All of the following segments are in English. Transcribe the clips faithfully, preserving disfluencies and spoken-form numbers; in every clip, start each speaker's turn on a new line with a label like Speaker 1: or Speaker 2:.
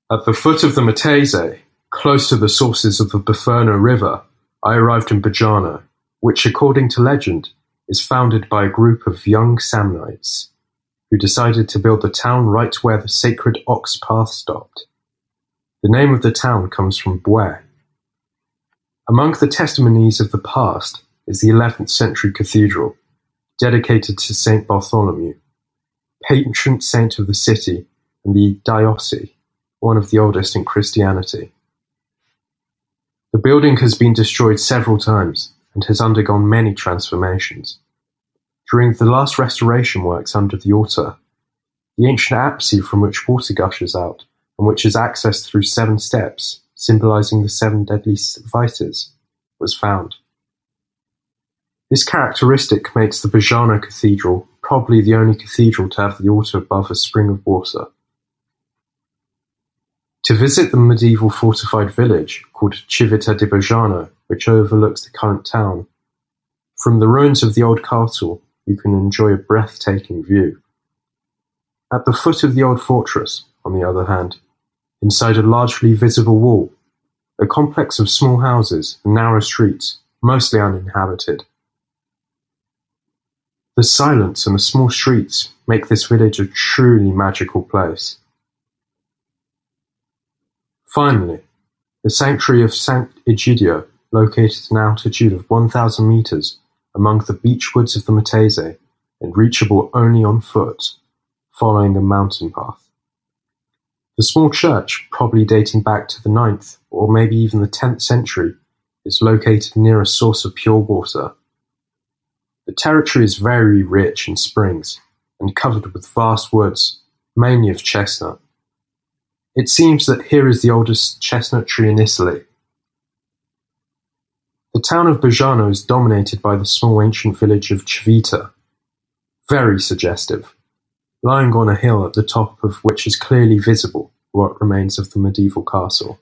Speaker 1: At the foot of the Matese, close to the sources of the Biferno River, I arrived in Bajano, which, according to legend, is founded by a group of young Samnites who decided to build the town right where the sacred ox path stopped. The name of the town comes from Bue. Among the testimonies of the past is the eleventh century cathedral, dedicated to Saint Bartholomew, patron saint of the city and the diocese, one of the oldest in Christianity. The building has been destroyed several times and has undergone many transformations. During the last restoration works under the altar, the ancient apse from which water gushes out and which is accessed through seven steps, symbolizing the seven deadly vices, was found. This characteristic makes the Bajano Cathedral probably the only cathedral to have the altar above a spring of water. To visit the medieval fortified village called Civita di Bajano, which overlooks the current town, from the ruins of the old castle you can enjoy a breathtaking view. At the foot of the old fortress, on the other hand, inside a largely visible wall, a complex of small houses and narrow streets, mostly uninhabited. The silence and the small streets make this village a truly magical place. Finally, the sanctuary of Saint Egidio, located at an altitude of one thousand meters among the beech woods of the Matese and reachable only on foot, following a mountain path. The small church, probably dating back to the ninth or maybe even the tenth century, is located near a source of pure water. The territory is very rich in springs and covered with vast woods, mainly of chestnut. It seems that here is the oldest chestnut tree in Italy. The town of Bajano is dominated by the small ancient village of Civita, very suggestive, lying on a hill at the top of which is clearly visible what remains of the medieval castle.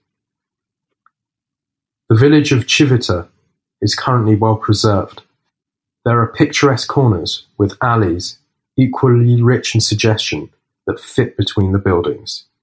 Speaker 1: The village of Civita is currently well preserved. There are picturesque corners with alleys, equally rich in suggestion, that fit between the buildings.